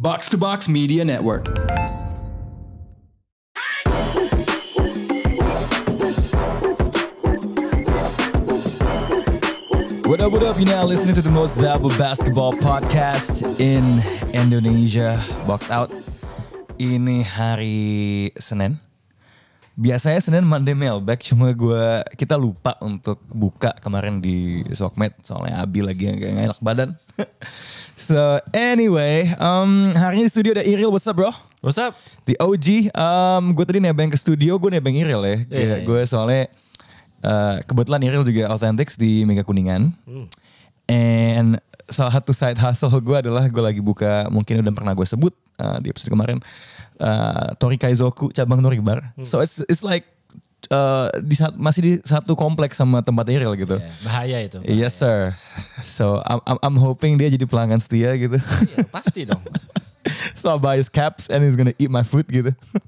Box to Box Media Network. What up, you now listening to the most valuable basketball podcast in Indonesia, Box Out. Ini hari Senin. Biasanya Senin Monday mailbag, cuma kita lupa untuk buka kemarin di Sokmed, soalnya Abi lagi gak enak badan. So anyway, hari ini di studio ada Iril. What's up bro? What's up? The OG. Gue tadi nebeng ke studio, gue nebeng Iril ya. Gue soalnya kebetulan Iril juga Authentics di Mega Kuningan. And salah satu side hustle gue adalah gue lagi buka, mungkin udah pernah gue sebut di episode kemarin, Tori Kaizoku cabang Noribar. So it's like masih di satu kompleks sama tempat Iril gitu. Bahaya itu. Bahaya. Yes sir. So I'm hoping dia jadi pelanggan setia gitu. Iya, pasti dong. So I buy his caps and he's gonna eat my food gitu.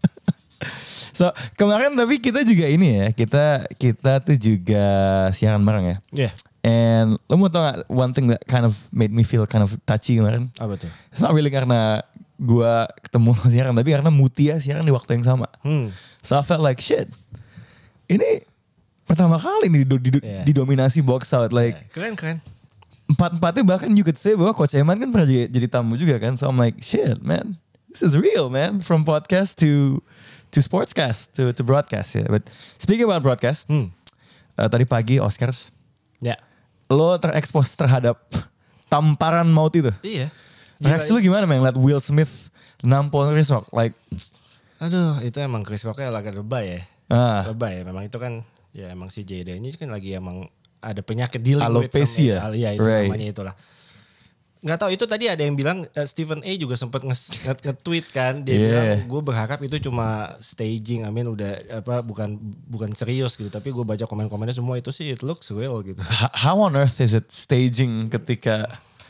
So kemarin tapi kita juga ini ya, kita tuh juga siaran bareng ya. Iya. Yeah. And lo mau tau gak one thing that kind of made me feel kind of touchy kemarin? Apa tuh? It's not really karena gue ketemu siaran, tapi karena Mutia siaran di waktu yang sama. So I felt like shit. Ini pertama kali nih didominasi Box Out. Like Keren. Empat-empatnya bahkan you could say bahwa Coach Eman kan pernah jadi tamu juga kan. So I'm like shit man. This is real man. From podcast to sportscast to broadcast ya. But speaking about broadcast. Tadi pagi Oscars. Ya. Lo terekspos terhadap tamparan maut itu. Iya. Reaksi lu gimana men? Liat Will Smith nampol Chris Rock. Like, aduh itu emang Chris Rocknya agak lebay ya. Lebay ya. Memang itu kan ya emang si JD ini kan lagi emang ada penyakit dealing alopecia. Iya itu namanya itulah. Nggak tahu itu tadi ada yang bilang Stephen A juga sempat nge-tweet kan. Dia bilang gue berharap itu cuma staging. I mean udah bukan serius gitu. Tapi gue baca komen-komennya semua itu sih it looks real gitu. How on earth is it staging ketika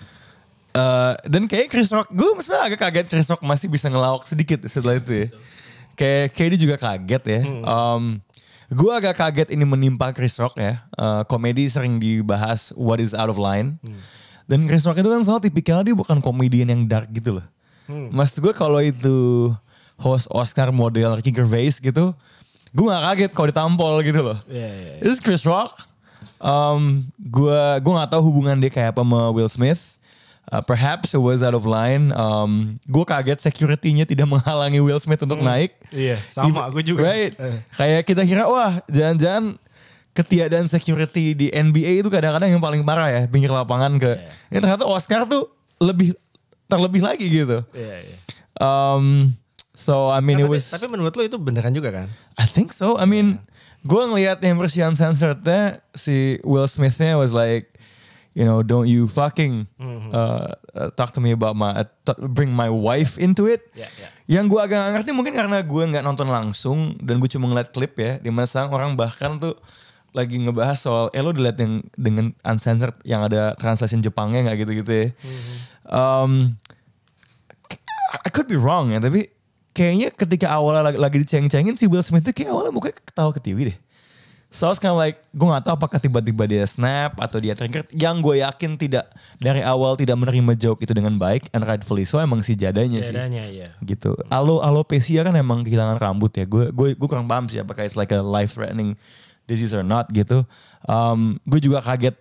dan kayak Chris Rock, gue sebenarnya agak kaget Chris Rock masih bisa ngelawak sedikit setelah itu ya. Kayak dia juga kaget ya. Gue agak kaget ini menimpa Chris Rock ya. Komedi sering dibahas what is out of line. Dan Chris Rock itu kan soal tipikalnya dia bukan komedian yang dark gitu loh. Maksud gue kalau itu host Oscar model Ricky Gervais gitu, gue gak kaget kalau ditampol gitu loh. This is Chris Rock. Gue gak tahu hubungan dia kayak apa sama Will Smith. Perhaps it was out of line. Gue kaget security-nya tidak menghalangi Will Smith untuk naik. Iya, sama gue juga. Right. Kayak kita kira wah jangan-jangan ketiadaan security di NBA itu kadang-kadang yang paling parah ya. Pinggir lapangan ke. Ini ternyata Oscar tuh terlebih lagi gitu. So I mean tapi menurut lo itu beneran juga kan? I think so. I mean gue ngelihat yang versi uncensorednya si Will Smith-nya was like, you know, don't you fucking talk to me about bring my wife into it. Yang gue agak gak ngerti mungkin karena gue gak nonton langsung dan gue cuma ngeliat klip ya. Dimana sekarang orang bahkan tuh lagi ngebahas soal, lo dilihat yang dengan uncensored yang ada translation Jepangnya gak gitu-gitu ya. I could be wrong ya, tapi kayaknya ketika awalnya lagi diceng-cengin si Will Smith tuh kayak awalnya mukanya ketawa ketiwi deh. So it's kind of like, gue gak tahu apakah tiba-tiba dia snap atau dia trigger. Yang gue yakin tidak, dari awal tidak menerima joke itu dengan baik. And rightfully so emang si jadanya sih. Iya. Gitu. Alopecia kan emang kehilangan rambut ya. Gue kurang paham sih apakah it's like a life threatening disease or not gitu. Gue juga kaget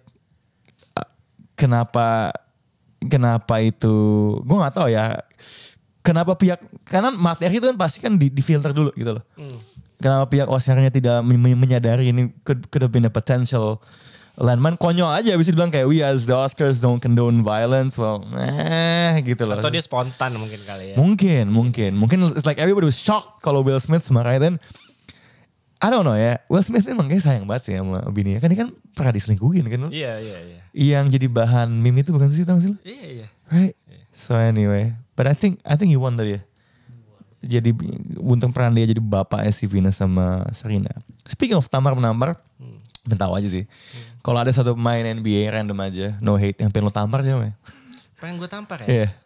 kenapa itu, gue gak tahu ya. Kenapa karena materi itu kan pasti kan di filter dulu gitu loh. Kenapa pihak Oscar-nya tidak menyadari ini could have been a potential landmine. Konyol aja bisa dibilang kayak we as the Oscars don't condone violence. Well, gitu loh. Atau dia spontan mungkin kali ya. Mungkin it's like everybody was shocked kalau Will Smith semarahin. Dan I don't know ya. Will Smith emang kayak sayang banget sih sama bininya. Kan dia kan pernah diselingkuhin kan. Iya. Yang jadi bahan meme itu bukan sih, tau sih lo? Iya. Right? So anyway. But I think he won tadi ya. Jadi untung peran dia jadi bapaknya si Venus sama Serena. Speaking of tampar-menampar, tahu aja sih. Kalau ada satu pemain NBA random aja, no hate, yang pengen lo tampar siapa ya? Pengen gue tampar ya? Iya.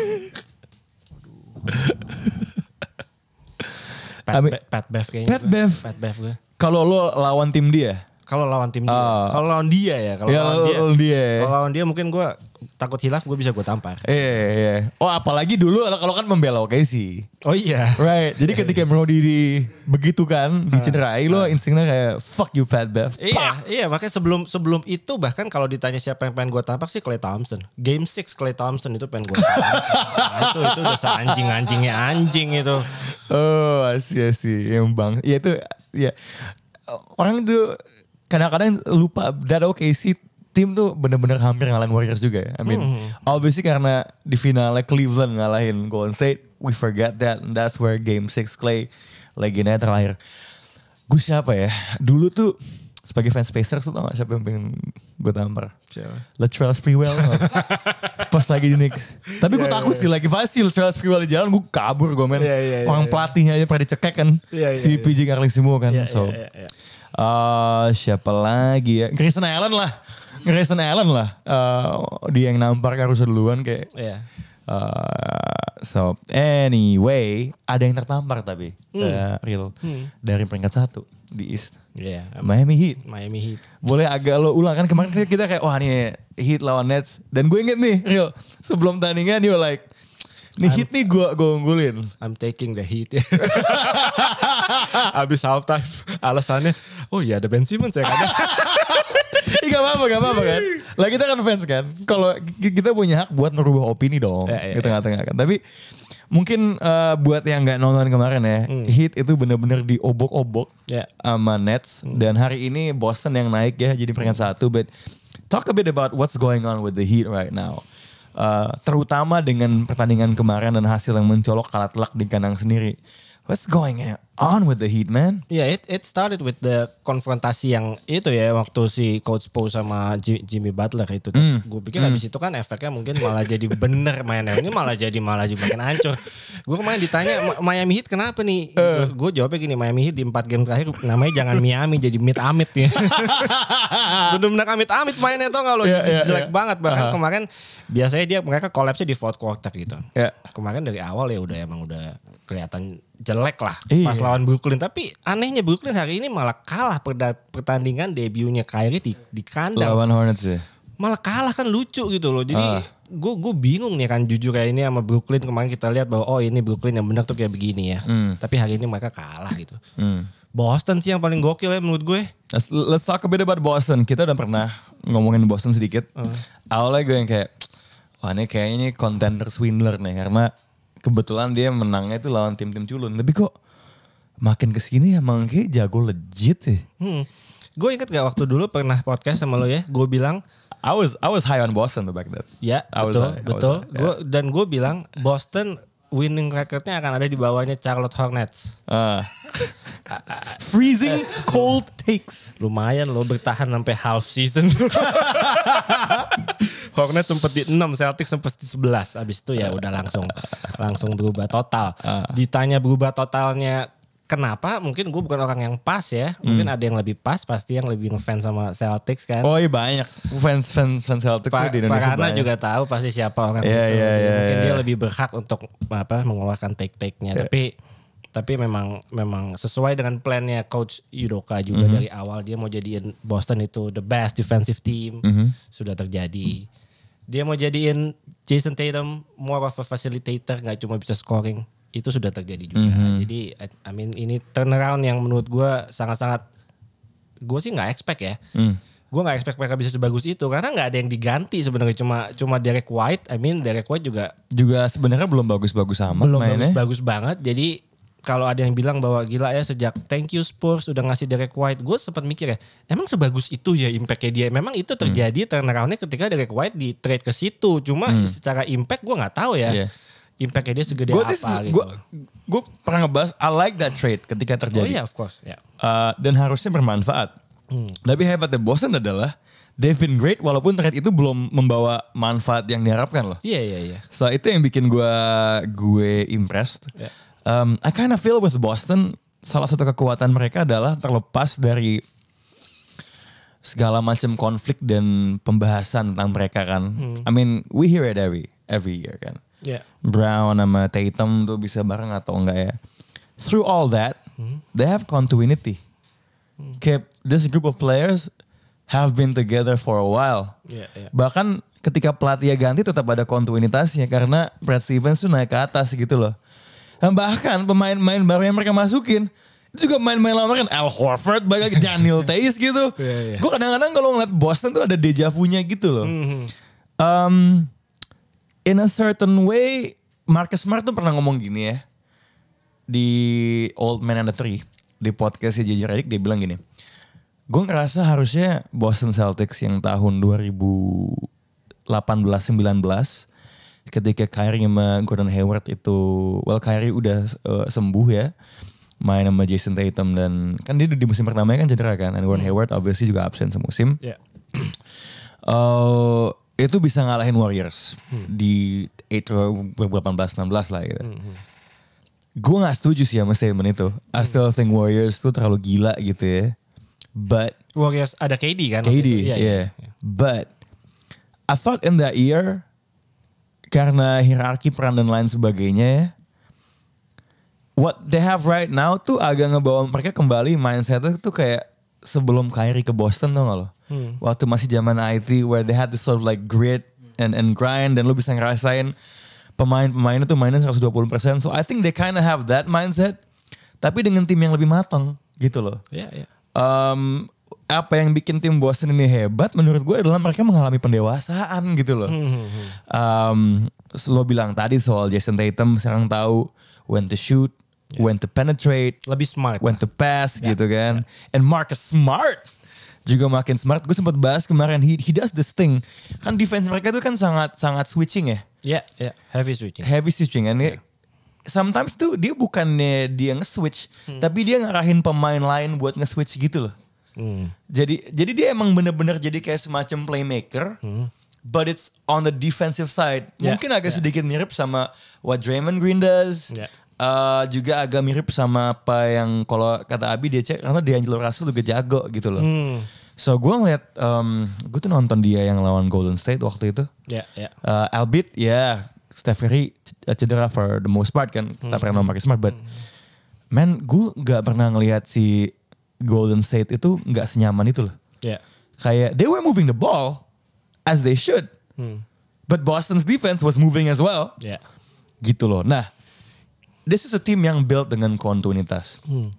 Pat Bev kayaknya. Pat Bev gue. Kalau lo lawan tim dia? Kalau lawan tim dia. Kalau lawan dia ya. Kalau lawan dia mungkin gue takut hilaf gue bisa gue tampar. Iya. Oh apalagi dulu kalau kan membela OKC. Oh iya. Right. Jadi ketika Brody begitu kan dicederai lo instingnya kayak fuck you fat Bev. Iya makanya sebelum itu bahkan kalau ditanya siapa yang pengen gue tampak sih Klay Thompson. Game 6 Klay Thompson itu pengen gue tampak. Nah, itu udah seanjing-anjingnya anjing itu. Oh sih yang bang. Ya itu ya orang tuh kadang-kadang lupa that OKC tim tuh bener-bener hampir ngalahin Warriors juga ya. I mean, obviously karena di finalnya Cleveland ngalahin Golden State, we forget that. And that's where Game 6 Klay legendanya terlahir. Gue siapa ya? Dulu tuh sebagai fans Pacers tuh tau gak siapa yang pengen gue tampar? Latrell Sprewell. Pas lagi di Knicks. Tapi gue takut sih lagi pasti Latrell Sprewell di jalan gue kabur gue men. Orang pelatihnya aja pernah dicekek kan. Si PJ Carlesimo kan. Siapa lagi ya? Grayson Allen lah. Dia yang nampar harusnya duluan kayak. So anyway, ada yang tertampar tapi real dari peringkat 1 di East. Miami Heat. Boleh agak lo ulang kan kemarin kita kayak wah nih Heat lawan Nets dan gue inget nih real sebelum tandingan dia like nih Heat nih gue unggulin. I'm taking the Heat. Abis halftime alasannya oh iya ada Ben Simmons ya kan. Gak apa-apa kan. Lah kita kan fans kan. Kalau kita punya hak buat merubah opini dong. Di tengah-tengah kan. Tapi mungkin buat yang gak nonton kemarin ya. Heat itu bener-bener diobok-obok sama Nets. Dan hari ini Boston yang naik ya jadi peringkat 1. But talk a bit about what's going on with the Heat right now. Terutama dengan pertandingan kemarin dan hasil yang mencolok kalah telak di kandang sendiri. What's going on with the Heat, man? It started with the konfrontasi yang itu ya waktu si Coach Poe sama Jimmy Butler itu. Gue pikir habis itu kan efeknya mungkin malah jadi bener mainnya. Ini malah jadi makin hancur. Gue kemarin ditanya Miami Heat kenapa nih? Gue jawabnya gini, Miami Heat di 4 game terakhir namanya jangan Miami jadi amit-amit ya. Bener-bener amit-amit mainnya tau gak lo? Jelek banget. Bahkan kemarin biasanya mereka collapse di fourth quarter gitu. Kemarin dari awal ya emang udah kelihatan jelek lah pas lawan Brooklyn. Tapi anehnya Brooklyn hari ini malah kalah pertandingan debutnya Kyrie di kandang. Lawan Hornets ya? Malah kalah kan lucu gitu loh. Jadi gue bingung nih kan jujur kayak ini sama Brooklyn. Kemarin kita lihat bahwa oh ini Brooklyn yang benar tuh kayak begini ya. Tapi hari ini mereka kalah gitu. Boston sih yang paling gokil ya menurut gue. Let's talk a bit about Boston. Kita udah pernah ngomongin Boston sedikit. Awalnya gue yang kayak wah ini kayaknya ini contender swindler nih. Karena kebetulan dia menangnya itu lawan tim-tim culun. Tapi kok makin kesini emang kayak jago legit ya. Gue inget gak waktu dulu pernah podcast sama lo ya. Gue bilang. I was high on Boston back then. Ya betul. Dan gue bilang Boston winning recordnya akan ada di bawahnya Charlotte Hornets. Freezing cold takes. Lumayan lo bertahan sampai half season. Hornets sempat di 6, Celtics sempat di 11. Abis itu ya udah langsung berubah total. Ditanya berubah totalnya kenapa? Mungkin gue bukan orang yang pas ya. Mungkin ada yang lebih pas, pasti yang lebih ngefans sama Celtics kan. Oh iya banyak fans Celtics di Indonesia. Parana juga tahu pasti siapa orang itu. Mungkin dia lebih berhak untuk mengeluarkan take-nya. Tapi memang sesuai dengan plannya Coach Udoka juga dari awal dia mau jadiin Boston itu the best defensive team. Sudah terjadi. Dia mau jadiin Jason Tatum more of a facilitator, gak cuma bisa scoring. Itu sudah terjadi juga. Jadi ini turnaround yang menurut gue sangat-sangat, gue sih gak expect ya. Gue gak expect mereka bisa sebagus itu karena gak ada yang diganti sebenarnya, cuma Derek White. Derek White juga sebenarnya belum bagus-bagus amat. Belum bagus-bagus banget. Jadi kalau ada yang bilang bahwa gila ya sejak thank you Spurs udah ngasih Derek White, gue sempat mikir ya, emang sebagus itu ya impactnya dia. Memang itu terjadi turnaroundnya ketika Derek White di trade ke situ. Cuma secara impact gue nggak tahu ya. Impactnya dia segede apa gitu. Gue pernah ngebahas I like that trade ketika terjadi. Oh iya, of course. Dan harusnya bermanfaat. Tapi hebatnya Boston adalah Devin Great walaupun trade itu belum membawa manfaat yang diharapkan loh. Iya. So itu yang bikin gue impressed. I kind of feel with Boston salah satu kekuatan mereka adalah terlepas dari segala macam konflik dan pembahasan tentang mereka kan. We hear it every year kan. Brown sama Tatum tuh bisa bareng atau enggak ya. Through all that, they have continuity. Kayak this group of players have been together for a while. Bahkan ketika pelatih ganti tetap ada kontinuitasnya karena Brad Stevens tuh naik ke atas gitu loh. Dan bahkan pemain-pemain baru yang mereka masukin itu juga main-main lama kan Al Horford, banyak Daniel Theis gitu. Gue kadang-kadang kalau ngeliat Boston tuh ada deja vu-nya gitu loh. In a certain way, Marcus Smart tuh pernah ngomong gini ya. Di Old Man and the Tree, di podcastnya JJ Redick, dia bilang gini. Gue ngerasa harusnya Boston Celtics yang tahun 2018-19 ketika Kyrie sama Gordon Hayward itu, Kyrie udah sembuh ya. Main sama Jason Tatum dan kan dia di musim pertamanya kan cedera kan. Dan Gordon Hayward obviously juga absen semusim. Itu bisa ngalahin Warriors di 18-19 lah gitu. Gue gak setuju sih sama statement itu. I still think Warriors tuh terlalu gila gitu ya. But Warriors ada KD kan? KD, yeah. But I thought in that year karena hierarki peran dan lain sebagainya ya, what they have right now tuh agak ngebawa mereka kembali mindsetnya tuh kayak sebelum Kyrie ke Boston tau gak lo? Waktu masih zaman IT where they had this sort of like grit and grind dan lo bisa ngerasain pemain-pemainnya tuh mainnya 120%. So I think they kind of have that mindset tapi dengan tim yang lebih matang gitu loh. Apa yang bikin tim Boston ini hebat menurut gue adalah mereka mengalami pendewasaan gitu loh. Lo bilang tadi soal Jason Tatum sekarang tahu when to shoot, when to penetrate, lebih smart, when to pass gitu kan. And Marcus Smart juga makin smart. Gue sempat bahas kemarin, he does this thing. Kan defense mereka tuh kan sangat switching ya. Heavy switching. And sometimes tuh dia bukannya dia nge-switch, tapi dia ngarahin pemain lain buat nge-switch gitu loh. Jadi dia emang bener-bener jadi kayak semacam playmaker. But it's on the defensive side. Mungkin agak sedikit mirip sama what Draymond Green does. Juga agak mirip sama apa yang kalau kata Abi dia cek karena D'Angelo Russell juga jago gitu loh. So gue ngeliat, gue tuh nonton dia yang lawan Golden State waktu itu. Albeit Steph Curry cedera for the most part kan. Kita pernah Marcus Smart. But man, gue gak pernah ngeliat si Golden State itu gak senyaman itu loh. Kayak they were moving the ball as they should. But Boston's defense was moving as well. Gitu loh. Nah, this is a team yang built dengan kontinuitas.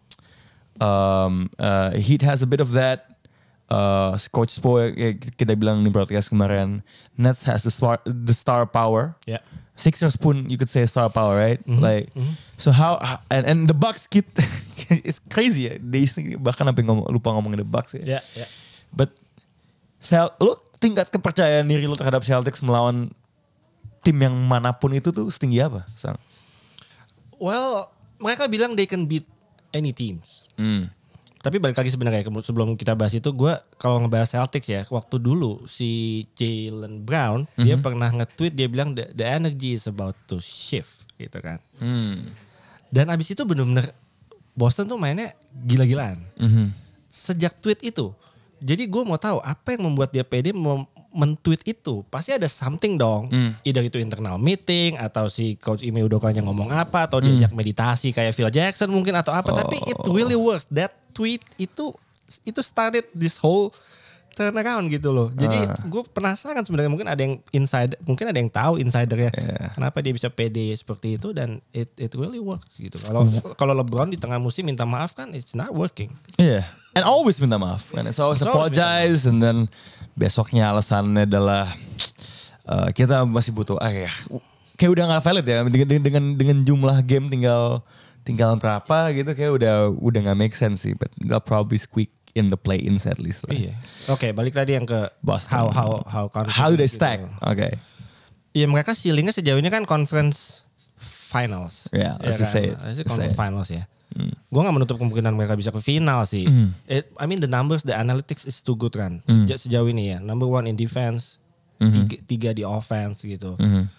Heat has a bit of that. Coach Spo kita bilang di broadcast kemarin. Nets has the star power. Sixers pun you could say star power, right? So how and the Bucks it's crazy ya. Bahkan sampai lupa ngomongin the Bucks ya. But lu tingkat kepercayaan diri lu terhadap Celtics melawan tim yang manapun itu tuh setinggi apa, Sang? Well, mereka bilang they can beat any teams. Tapi balik lagi sebenarnya sebelum kita bahas itu, gue kalau ngebahas Celtics ya, waktu dulu si Jaylen Brown dia pernah nge-tweet, dia bilang the energy is about to shift gitu kan. Dan abis itu bener-bener Boston tuh mainnya gila-gilaan. Sejak tweet itu. Jadi gue mau tahu apa yang membuat dia pede men-tweet itu. Pasti ada something dong. Either itu internal meeting atau si Coach Ime Udoka ngomong apa atau diajak meditasi kayak Phil Jackson mungkin atau apa. Tapi it really works. That tweet itu started this whole turnaround gitu loh. Jadi gue penasaran sebenarnya, mungkin ada yang insider, mungkin ada yang tahu insidernya kenapa dia bisa pede seperti itu, dan it really works gitu. Kalau LeBron di tengah musim minta maaf kan it's not working. And always minta maaf. And it's always apologize and then besoknya alasannya adalah kita masih butuh kayak udah gak valid ya dengan jumlah game tinggal berapa gitu, kayak udah gak make sense sih, but they'll probably squeak in the play-ins at least. Oke, balik tadi yang ke Boston. How do they stack? Gitu. Iya, mereka ceilingnya sejauh ini kan conference finals. Let's just say it. Conference finals ya. Gue gak menutup kemungkinan mereka bisa ke final sih. I mean the numbers, the analytics is too good kan. Sejauh ini ya. Number 1 in defense, 3 di offense gitu.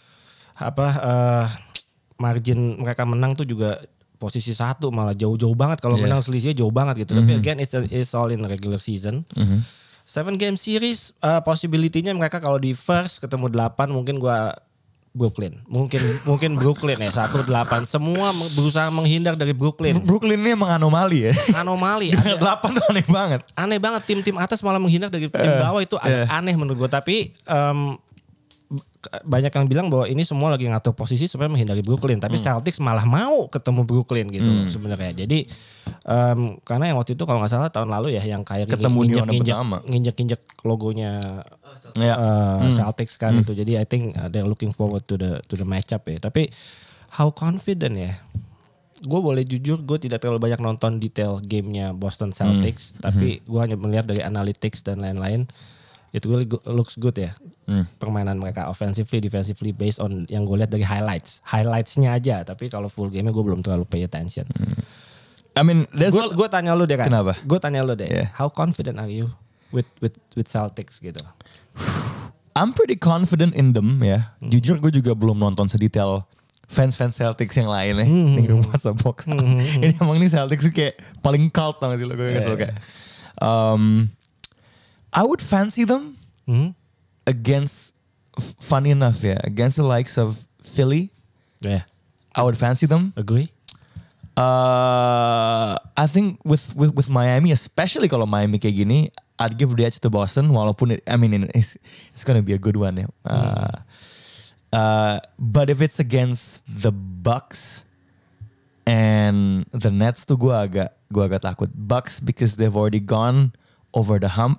Margin mereka menang tuh juga posisi 1 malah jauh-jauh banget. Kalau menang selisihnya jauh banget gitu. Tapi again it's all in regular season. 7 game series possibility-nya mereka kalau di first ketemu 8 mungkin gue Brooklyn. Mungkin Brooklyn ya 1-8. Semua berusaha menghindar dari Brooklyn. Brooklyn ini emang anomali ya. Anomali. Di 8 tuh aneh banget. Aneh banget, tim-tim atas malah menghindar dari tim bawah itu agak aneh menurut gue. Tapi banyak yang bilang bahwa ini semua lagi ngatur posisi supaya menghindari Brooklyn. Tapi Celtics malah mau ketemu Brooklyn gitu sebenarnya. Jadi karena yang waktu itu kalau nggak salah tahun lalu ya yang kayak nginjek logonya Celtics kan itu. Jadi I think they're looking forward to the matchup ya. Tapi how confident ya? Gue boleh jujur, gue tidak terlalu banyak nonton detail gamenya Boston Celtics. Tapi gue hanya melihat dari analytics dan lain-lain. It really looks good ya. Permainan mereka offensively, defensively based on yang gue lihat dari highlights-nya aja. Tapi kalau full game-nya gue belum terlalu pay attention. I mean, gue tanya lu deh kan. Kenapa? Gue tanya lu deh. Yeah. How confident are you with Celtics gitu? I'm pretty confident in them ya. Jujur gue juga belum nonton sedetail fans Celtics yang lain ya. Di rumah box. Ini emang ini Celtics kayak paling cult tau gak sih lo. Gue gak suka. I would fancy them against, funny enough ya, against the likes of Philly. Yeah. I would fancy them. Agree. I think with Miami, especially kalau Miami kayak gini, I'd give the edge to Boston. Walaupun it's gonna be a good one ya. But if it's against the Bucks and the Nets tuh gue agak takut. Bucks because they've already gone over the hump.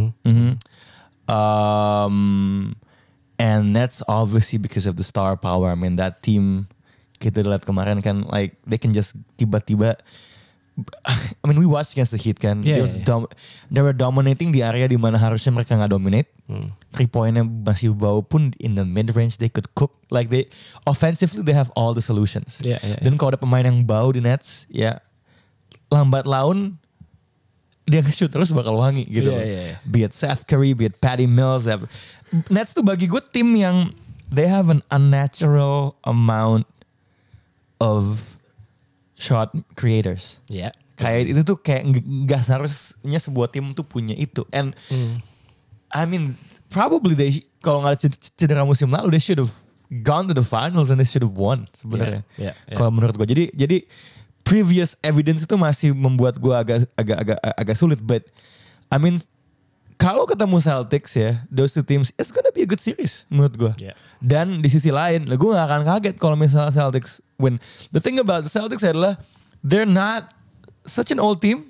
And Nets obviously because of the star power. I mean that team kita lihat kemarin kan, like they can just tiba-tiba. I mean we watched against the Heat kan. They were dominating di area di mana harusnya mereka nggak dominate. 3-pointnya masih bau pun in the mid range they could cook. Like they offensively they have all the solutions. Dan kalau ada pemain yang bau di Nets, ya lambat laun dia nge-shoot terus bakal wangi gitu. Be it Seth Curry, be it Patty Mills. Nets tuh bagi gue tim yang they have an unnatural amount of shot creators. Kayak itu tuh kayak gak seharusnya sebuah tim tuh punya itu. And I mean probably kalau gak ada cedera musim lalu they should have gone to the finals and they should have won sebenarnya. Kalau menurut gue. Jadi previous evidence itu masih membuat gue agak sulit. But I mean kalau ketemu Celtics ya, those two teams, it's gonna be a good series menurut gue. Dan di sisi lain, gue gak akan kaget kalau misalnya Celtics win. The thing about the Celtics adalah they're not such an old team.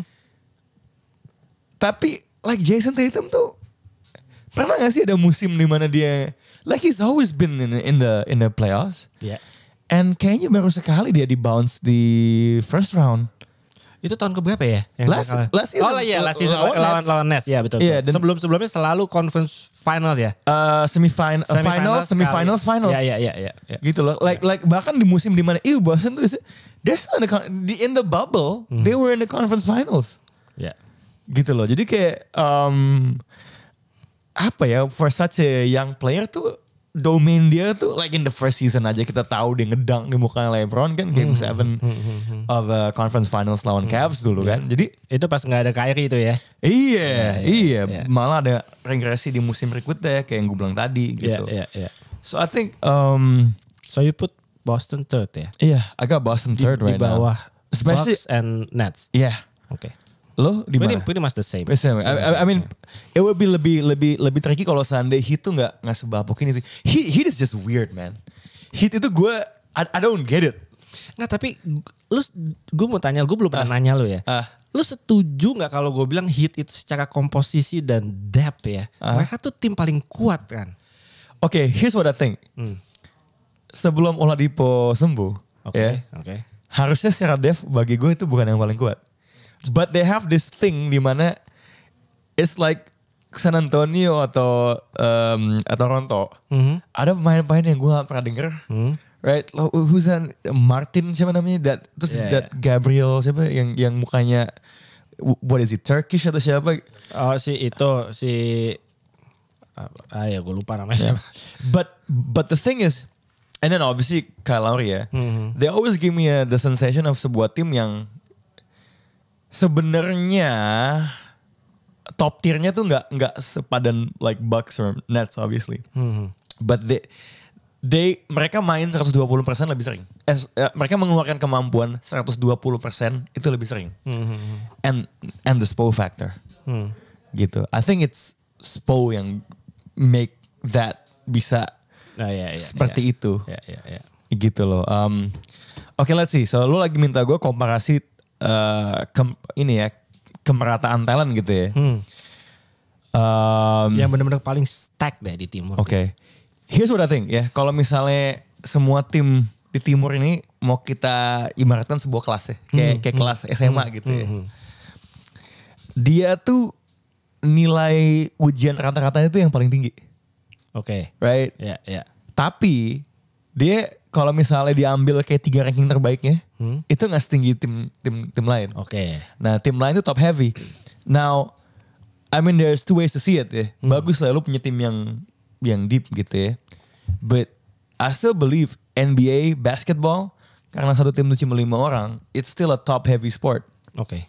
Tapi like Jason Tatum tuh pernah gak sih ada musim di mana dia like he's always been in the playoffs. And kayaknya baru sekali dia di bounce di first round. Itu tahun keberapa ya? Last season. Last season lawan Nets. Ya betul. Sebelumnya selalu conference finals ya. Semifinals. Ya. Gitu loh. Like bahkan di musim di mana Boston tuh in the bubble, they were in the conference finals. Gitu loh. Jadi kayak apa ya, for such a young player tuh domain dia tuh like in the first season aja kita tahu dia ngedang di muka LeBron kan game 7 of conference finals lawan Cavs dulu kan. Jadi itu pas nggak ada Kyrie itu ya. Iya. Malah ada regresi di musim berikutnya kayak yang gue bilang tadi gitu. So I think so you put Boston third ya? Iya, I got Boston third right now. Di bawah Bucks and Nets. Yeah. Okay. Lo di mana? Pretty much the same. I mean, it would be lebih tricky kalau seandainya Heat tuh nggak sebabok ini sih. Heat is just weird, man. Heat itu I don't get it. Nggak, tapi gue mau tanya, gue belum pernah nanya lo ya. Lu setuju nggak kalau gue bilang Heat itu secara komposisi dan depth ya, mereka tuh tim paling kuat kan? Okay, here's what I think. Sebelum Oladipo sembuh, harusnya secara depth bagi gue itu bukan yang paling kuat. But they have this thing di mana it's like San Antonio atau Toronto. Ada pemain-pemain yang gue gak pernah denger. Right? Who's that? Martin siapa namanya? That Gabriel siapa yang mukanya what is it? Turkish atau siapa? Oh ya gue lupa namanya. But the thing is, and then obviously Kyle Lowry ya. They always give me the sensation of sebuah tim yang sebenarnya top tiernya tuh nggak sepadan like Bucks or Nets obviously. But mereka main 120% lebih sering. Mereka mengeluarkan kemampuan 120% itu lebih sering. And the Spo factor. Gitu. I think it's Spo yang make that bisa seperti itu. Gitu loh. Oke, let's see. So lu lagi minta gue komparasi kemerataan talent gitu ya. Yang benar-benar paling stack deh di timur. Oke. Here's what I think ya. Kalau misalnya semua tim di timur ini mau kita ibaratkan sebuah kelas ya. Kayak kelas SMA gitu ya. Dia tuh nilai ujian rata-ratanya tuh yang paling tinggi. Oke. Right? Ya. Tapi dia kalau misalnya diambil kayak 3 ranking terbaiknya, itu nggak setinggi tim lain. Oke. Nah tim lain tuh top heavy. Now, I mean there's two ways to see it ya. Bagus lah lu punya tim yang deep gitu ya. But I still believe NBA basketball karena satu tim tuh cuma 5 orang, it's still a top heavy sport. Oke.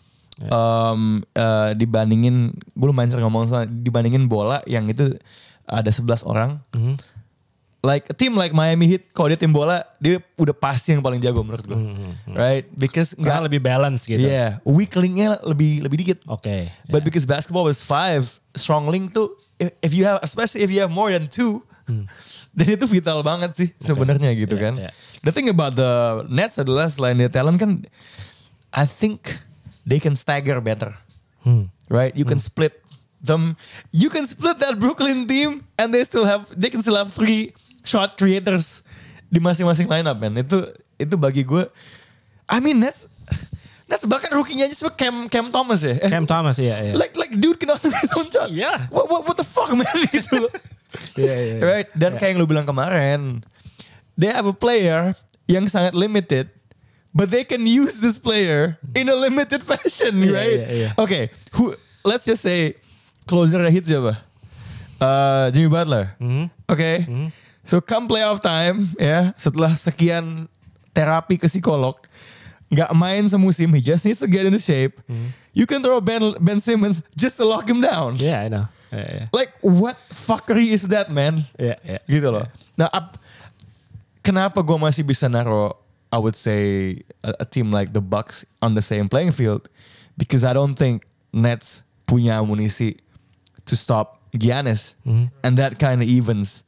Dibandingin, gue lumayan sering ngomong soal dibandingin bola yang itu ada 11 orang. Like a team like Miami Heat, kalau dia tim bola, dia udah pasti yang paling jago menurut gue. Right? Because karena lebih balance gitu. Yeah, weak link-nya lebih dikit. Oke. But because basketball was 5, strong link tuh if you have, especially if you have more than 2, dan itu vital banget sih sebenarnya gitu kan. The thing about the Nets adalah selain dia talent kan, I think they can stagger better. Right? You can split them. You can split that Brooklyn team and they can still have 3 shot creators di masing-masing lineup, man. Itu bagi gue, I mean Nets bahkan rookie-nya aja sama Cam Thomas ya. Cam Thomas ya. Like dude can also make his own shot. Yeah. What the fuck, man, gitu. Yeah. Right? Dan kayak yang lu bilang kemarin, they have a player yang sangat limited, but they can use this player in a limited fashion, right? Yeah. Okay, let's just say closer hit siapa? Jimmy Butler. Okay. So come playoff time ya, setelah sekian terapi ke psikolog, nggak main semusim, he just needs to get into shape. You can throw Ben Simmons just to lock him down. Yeah, I know. Yeah. Like what fuckery is that, man? Yeah. Gitu loh. Nah, kenapa gue masih bisa naro, I would say a team like the Bucks on the same playing field? Because I don't think Nets punya amunisi to stop Giannis, and that kind of evens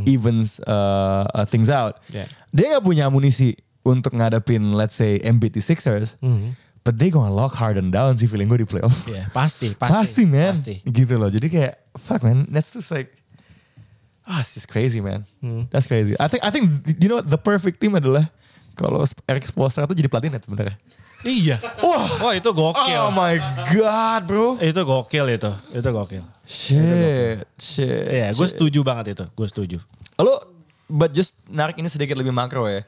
things out. Yeah. Dia nggak punya amunisi untuk ngadepin, let's say, Embiid di Sixers, but they gonna lock Harden down sih feeling gue di playoff. Yeah, pasti, man. Pasti. Gitu loh. Jadi kayak fuck, man, that's just like, it's just crazy, man. That's crazy. I think you know the perfect team adalah kalau Eric Spoelstra tuh jadi pelatih Nets sebenarnya. Iya. Wah itu gokil. Oh my god, bro. Itu gokil itu. Itu gokil. Shit. Iya, gue setuju banget itu. Gue setuju. But just narik ini sedikit lebih makro ya.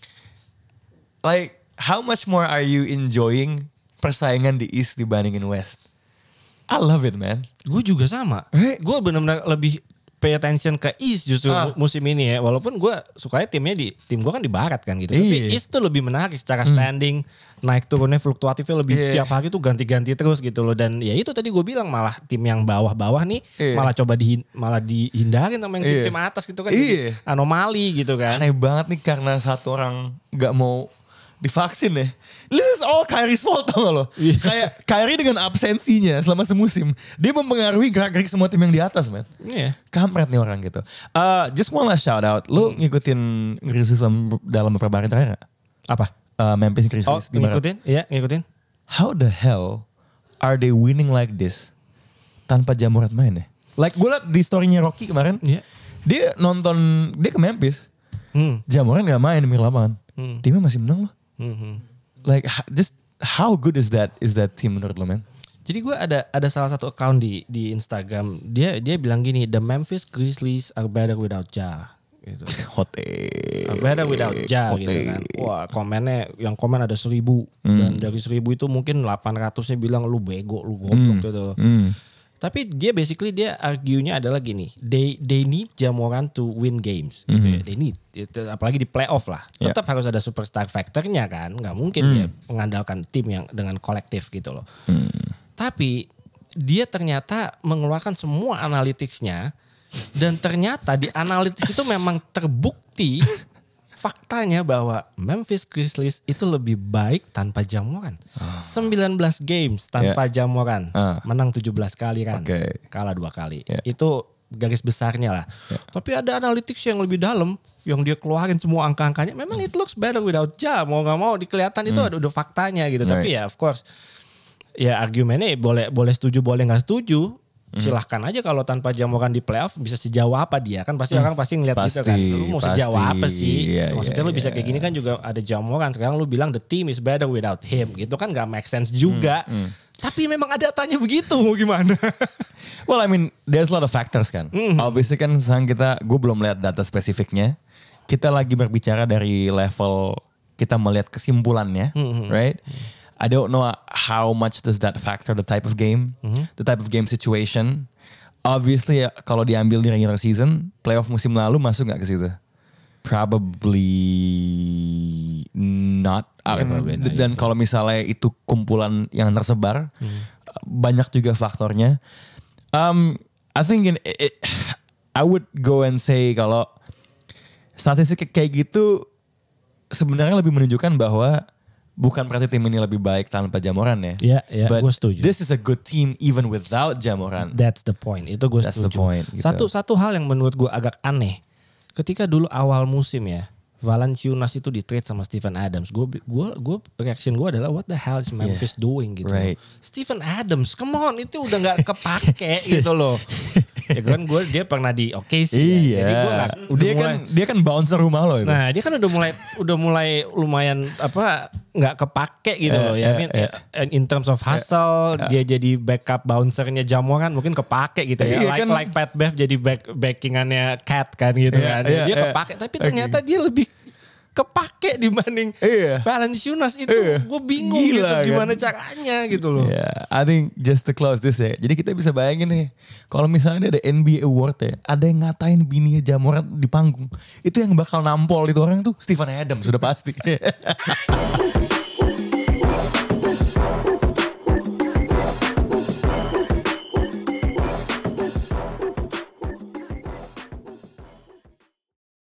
Like, how much more are you enjoying persaingan di East dibandingin West? I love it, man. Gue juga sama. Right? Gue benar-benar lebih pay attention ke East justru musim ini ya. Walaupun gue sukanya tim gue kan di Barat kan gitu. Tapi East tuh lebih menarik secara standing. Naik turunnya fluktuatifnya lebih tiap hari tuh ganti-ganti terus gitu loh. Dan ya itu tadi gue bilang malah tim yang bawah-bawah nih malah coba dihindarin sama yang tim atas gitu kan. Jadi anomali gitu kan. Aneh banget nih karena satu orang gak mau divaksin ya. This is all Kyrie's fault, tau gak lo? Kayak Kyrie dengan absensinya selama semusim, dia mempengaruhi gerak-gerik semua tim yang di atas, man. Kampret nih orang gitu. Just one last shout out. Lu ngikutin Grizzlies dalam beberapa hari terakhir gak? Apa? Memphis Grizzlies. Ngikutin? Iya, ngikutin. How the hell are they winning like this tanpa Ja Morant main ya? Like gue liat di story-nya Rocky kemarin, dia ke Memphis, Ja Morant gak main di pinggir lapangan. Timnya masih menang loh. Like just how good is that team menurut lo, man? Jadi gue ada salah satu account di Instagram, dia bilang gini, the Memphis Grizzlies are better without Ja. Gitu. Hot better without Ja gitu kan. Wah, yang komen ada 1,000 dan dari 1,000 itu mungkin 800-nya bilang lu bego, lu goblok gitu. Tapi dia argue-nya adalah gini, they need Ja Morant to win games gitu ya. They need, apalagi di playoff lah. Tetap harus ada superstar factor-nya kan. Nggak mungkin dia mengandalkan tim yang dengan kolektif gitu loh. Tapi dia ternyata mengeluarkan semua analytics-nya Dan ternyata di analitik itu memang terbukti faktanya bahwa Memphis Grizzlies itu lebih baik tanpa Ja Morant. 19 games tanpa Ja Morant. Menang 17 kali kan. Kalah 2 kali. Itu garis besarnya lah. Tapi ada analytics yang lebih dalam. Yang dia keluarin semua angka-angkanya. Memang it looks better without Ja. Mau gak mau kelihatan itu ada udah faktanya gitu. Tapi ya of course. Ya argumennya boleh setuju boleh gak setuju. Silahkan aja kalau tanpa Ja Morant di playoff bisa sejauh apa dia kan pasti orang pasti ngeliat gitu kan lu mau sejauh apa sih maksudnya lu bisa kayak gini kan juga ada Ja Morant sekarang lu bilang the team is better without him gitu kan gak make sense juga tapi memang ada datanya begitu mau gimana. Well I mean there's a lot of factors kan obviously kan sekarang gue belum lihat data spesifiknya kita lagi berbicara dari level kita melihat kesimpulannya right. I don't know how much does that factor the type of game, the type of game situation. Obviously ya, kalau diambil di regular season, playoff musim lalu masuk nggak ke situ? Probably not. Dan kalau misalnya itu kumpulan yang tersebar, banyak juga faktornya. I think I would go and say kalau statistik kayak gitu sebenarnya lebih menunjukkan bahwa bukan berarti tim ini lebih baik tanpa Ja Morant ya. Iya, gue setuju. This is a good team even without Ja Morant. That's the point. Itu gue setuju. The point, gitu. Satu hal yang menurut gue agak aneh. Ketika dulu awal musim ya, Valanciunas itu di trade sama Steven Adams. Reaction gue adalah what the hell is Memphis doing gitu. Right. Steven Adams, come on, itu udah nggak kepake gitu loh. Ya kan dia pernah di OKC ya. Jadi gue dia kan bouncer rumah lo itu. Nah, dia kan udah mulai lumayan nggak kepake gitu loh ya. In terms of hustle, dia jadi backup bouncernya Ja Morant mungkin kepake gitu ya. Like Pat Bev jadi backingannya Cat kan gitu kan. Dia kepake tapi ternyata dia lebih kepake dibanding Valanciunas itu. Gue bingung gitu gimana caranya gitu loh. I think just to close this ya. Jadi kita bisa bayangin nih. Kalau misalnya ada NBA Award ya. Ada yang ngatain bininya Ja Morant di panggung. Itu yang bakal nampol itu orang tuh Steven Adams sudah pasti.